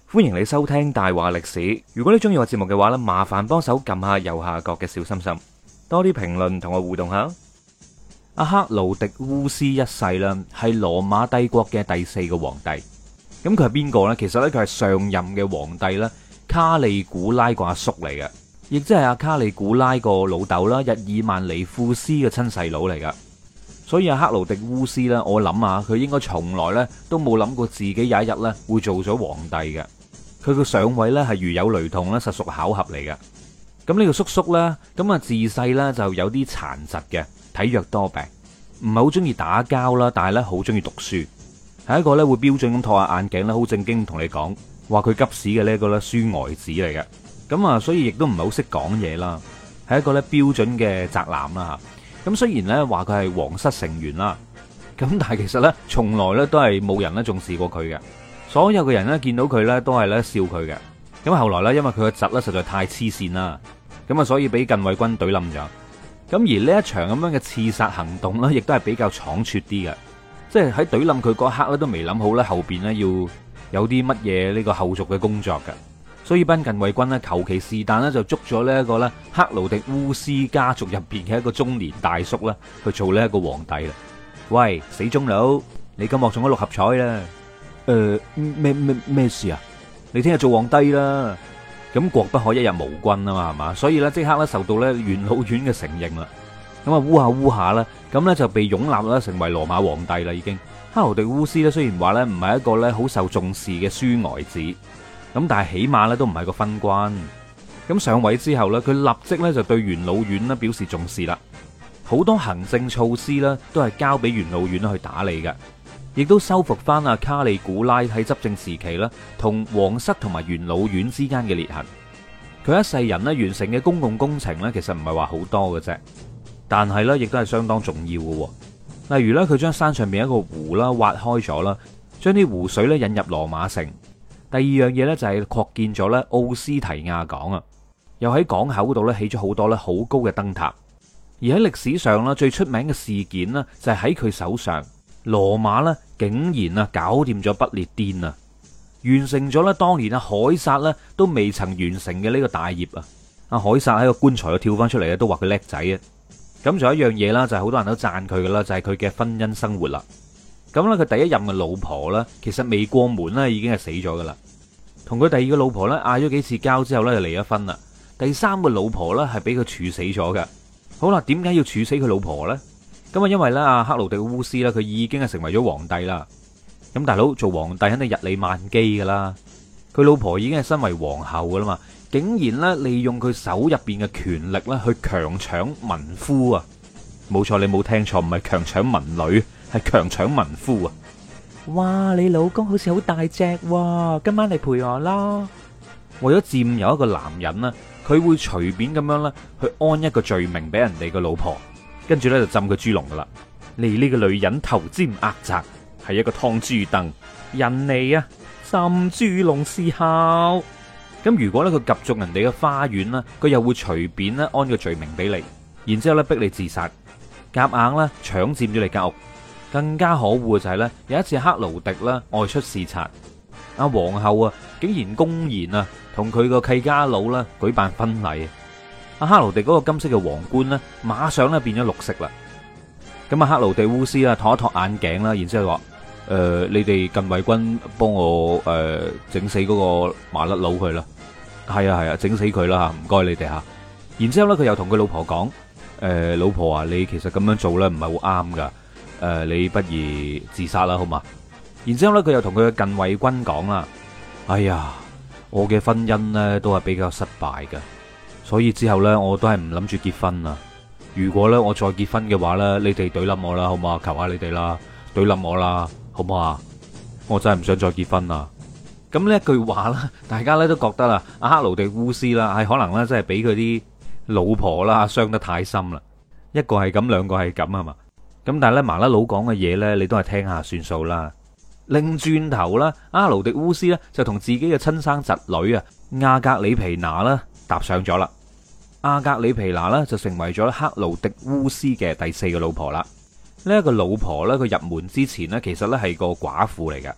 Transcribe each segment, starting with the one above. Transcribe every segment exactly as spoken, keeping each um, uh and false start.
歡迎你收聽大話歷史。如果你中意我節目嘅話呢，麻煩幫手撳下右下角嘅小心心，多啲評論同我互動下。阿克勞狄烏斯一世啦，係羅馬帝國嘅第四個皇帝。咁佢係邊個呢？其實呢，佢係上任嘅皇帝啦，卡利古拉個阿叔嚟嘅，亦即係阿卡利古拉個老豆啦，日耳曼尼庫斯嘅親細佬嚟噶。所以阿克勞狄烏斯呢，我諗下佢應該從來呢都冇諗過自己有一日呢會做咗皇帝嘅。佢個上位呢係如有雷同呢，實屬巧合嚟嘅。咁呢個叔叔呢，咁啊自細呢就有啲殘疾嘅，體弱多病，唔係好中意打交啦，但係呢好中意讀書，係一個呢會標準咁托下眼鏡啦，好正經同你講話佢急屎嘅呢一個呢書呆子嚟嘅。咁啊，所以亦都唔係好識講嘢啦，係一個呢標準嘅宅男啦。咁雖然咧話佢係皇室成員啦，咁但係其實咧從來咧都係冇人咧重視過佢嘅，所有嘅人咧見到佢咧都係咧笑佢嘅。咁後來咧因為佢個侄咧實在太黐線啦，咁啊所以俾近衛軍懟冧咗。咁而呢一場咁樣嘅刺殺行動咧，亦都係比較倉促啲嘅，即係喺懟冧佢嗰一刻咧都未諗好咧後邊咧要有啲乜嘢呢個後續嘅工作嘅。所以班近衛軍咧，求其是但咧就捉咗呢一個咧克勞狄烏斯家族入邊嘅一個中年大叔啦，去做呢一個皇帝啦。喂，死忠佬，你今日中咗六合彩啦？誒，咩咩咩事啊？你聽日做皇帝啦。咁國不可一日無君啊嘛，係嘛？所以咧即刻咧受到咧元老院嘅承認啦。咁啊烏下烏下啦，咁咧就被擁立啦成為羅馬皇帝啦已經。克勞狄烏斯咧雖然話咧唔係一個咧好受重視嘅書呆子。咁但係起碼咧都唔係個昏君。咁上位之後咧，佢立即咧就對元老院咧表示重視啦。好多行政措施咧都係交俾元老院去打理嘅，亦都修復翻阿卡利古拉喺執政時期咧同皇室同埋元老院之間嘅裂痕。佢一世人咧完成嘅公共工程咧，其實唔係話好多嘅啫，但係咧亦都係相當重要嘅。例如咧，佢將山上邊一個湖啦挖開咗啦，將啲湖水咧引入羅馬城。第二樣嘢咧就係擴建咗咧奧斯提亞港啊，又喺港口度咧起咗好多咧好高嘅燈塔。而喺歷史上咧最出名嘅事件呢，就係喺佢手上，羅馬咧竟然啊搞掂咗不列顛啊，完成咗咧當年啊凱撒咧都未曾完成嘅呢個大業啊！阿凱撒喺個棺材度跳翻出嚟啊，都話佢叻仔啊！咁仲有一樣嘢啦，就係好多人都讚佢噶啦，就係佢嘅婚姻生活啦。咁咧，佢第一任嘅老婆咧，其實未過門咧，已經係死咗噶啦。同佢第二個老婆咧，嗌咗幾次交之後咧，就離咗婚啦。第三個老婆咧，係俾佢處死咗嘅。好啦，點解要處死佢老婆咧？咁啊，因為咧，阿克勞狄烏斯咧，佢已經係成為咗皇帝啦。咁大佬做皇帝肯定日理萬機噶啦。佢老婆已經係身為皇后噶啦嘛，竟然咧利用佢手入邊嘅權力咧，去強搶民夫啊！冇錯，你冇聽錯，唔係強搶民女。係強搶民夫啊！哇，你老公好似好大隻喎，今晚嚟陪我啦！為咗佔有一個男人呢，佢會隨便咁樣咧去安一個罪名俾人哋個老婆，跟住咧就浸佢豬籠噶啦。你呢個女人頭尖額窄，係一個劏豬凳，人嚟啊，浸豬籠思考。咁如果咧佢及中人哋嘅花園呢，佢又會隨便咧安個罪名俾你，然之後咧逼你自殺，夾硬咧搶佔咗你間屋。更加可惡嘅就係咧，有一次克勞狄啦外出視察，阿皇后啊竟然公然啊同佢個契家佬啦舉辦婚禮，阿克勞狄嗰個金色嘅皇冠咧馬上咧變咗綠色啦。咁啊克勞狄烏斯啊托一托眼鏡啦，然之後話：誒、呃，你哋近衛軍幫我誒整、呃、死嗰個麻甩佬佢啦。係啊係啊，整、啊、死佢啦吓，唔該你哋吓。然之後咧佢又同佢老婆講：誒、呃，老婆啊，你其實咁樣做咧唔係好啱噶。誒、呃，你不如自殺啦，好嘛？然之後咧，佢又同佢嘅近衛軍講啦：哎呀，我嘅婚姻呢都係比較失敗嘅，所以之後呢，我都係唔諗住結婚啦。如果呢，我再結婚嘅話呢，你哋懟冧我啦，好嘛？求下你哋啦，懟冧我啦，好唔好啊？我真係唔想再結婚啦。咁呢一句話呢，大家呢都覺得啦，阿克勞狄烏斯啦，係可能呢，真係俾佢啲老婆啦傷得太深啦。一個係咁，兩個係咁啊嘛。咁但係咧麻甩佬講嘅嘢咧，你都係聽下算數啦。擰轉頭啦，阿勞狄烏斯咧就同自己嘅親生侄女啊亞格里皮娜啦搭上咗啦。亞格里皮娜咧就成為咗克勞狄烏斯嘅第四個老婆啦。呢一個老婆咧，佢入門之前咧，其實咧係個寡婦嚟嘅。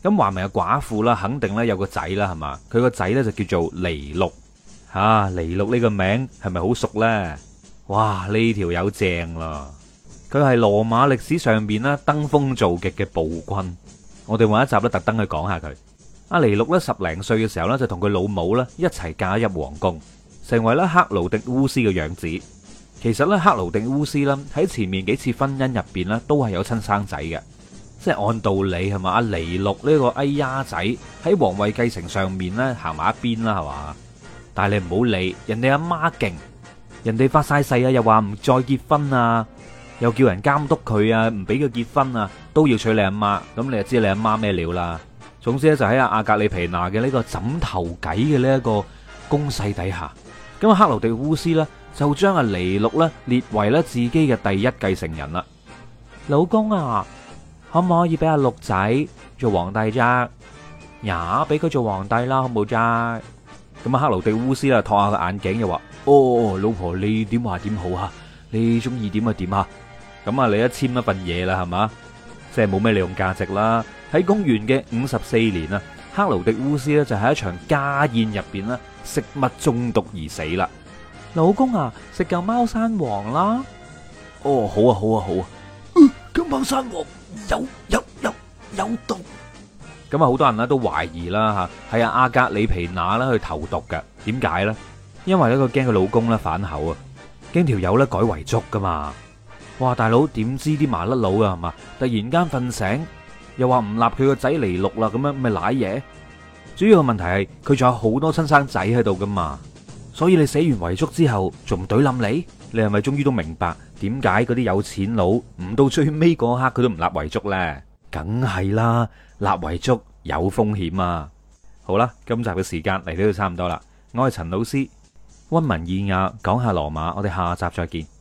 咁話明係寡婦啦，肯定咧有個仔啦，係嘛？佢個仔咧就叫做尼祿。吓、啊，尼祿呢個名係咪好熟呢？哇，呢條友正啦！佢係羅馬歷史上邊咧登峰造極嘅暴君。我哋揾一集咧特登去講下佢。阿尼祿咧十零歲嘅時候咧就同佢老母咧一齊嫁入皇宮，成為咧克勞狄烏斯嘅養子。其實咧克勞狄烏斯啦喺前面幾次婚姻入邊咧都係有親生仔嘅，即係按道理係嘛？阿尼祿呢個哎呀仔喺皇位繼承上面咧行埋一邊啦，係嘛？但係你唔好理，人哋阿媽勁，人哋發晒誓啊，又話唔再結婚啊，又叫人監督佢啊，唔俾佢結婚啊，都要娶你阿媽。咁你就知你阿媽咩料啦。總之咧就喺阿阿格里皮娜嘅呢個枕頭計嘅呢一個攻勢底下，咁啊克勞狄烏斯呢，就將阿尼祿咧列為咧自己嘅第一繼承人啦。老公啊，可唔可以俾阿祿仔做皇帝啫？呀，俾佢做皇帝啦，好冇啫？咁啊，克勞狄烏斯啦，托下個眼鏡，又話：哦，老婆你點話點好啊？你中意點就點啊？咁啊，你一簽一份嘢啦，係嘛？即係冇咩利用價值啦。喺公元嘅五十四年啊，克勞狄烏斯咧就喺一場家宴入邊啦，食物中毒而死啦。老公啊，食嚿貓山王啦。哦，好啊，好啊，好啊。咁貓山王有有有有毒。咁啊，好多人咧都懷疑啦吓，係阿阿格里皮娜啦去投毒嘅。點解咧？因為咧佢驚佢老公咧反口啊，驚條友咧改遺囑噶嘛。哇，大佬點知啲麻甩佬啊係嘛？突然間瞓醒，又話唔立佢個仔尼祿啦，咁樣咪瀨嘢。主要嘅問題係佢仲有好多親生仔喺度噶嘛，所以你寫完遺囑之後仲唔懟冧你？你係咪終於都明白點解嗰啲有錢佬唔到最尾嗰刻佢都唔立遺囑咧？梗係啦，立遺囑有風險啊！好啦，今集嘅時間嚟到就差唔多啦。我係陳老師，溫文爾雅講下羅馬，我哋下集再見。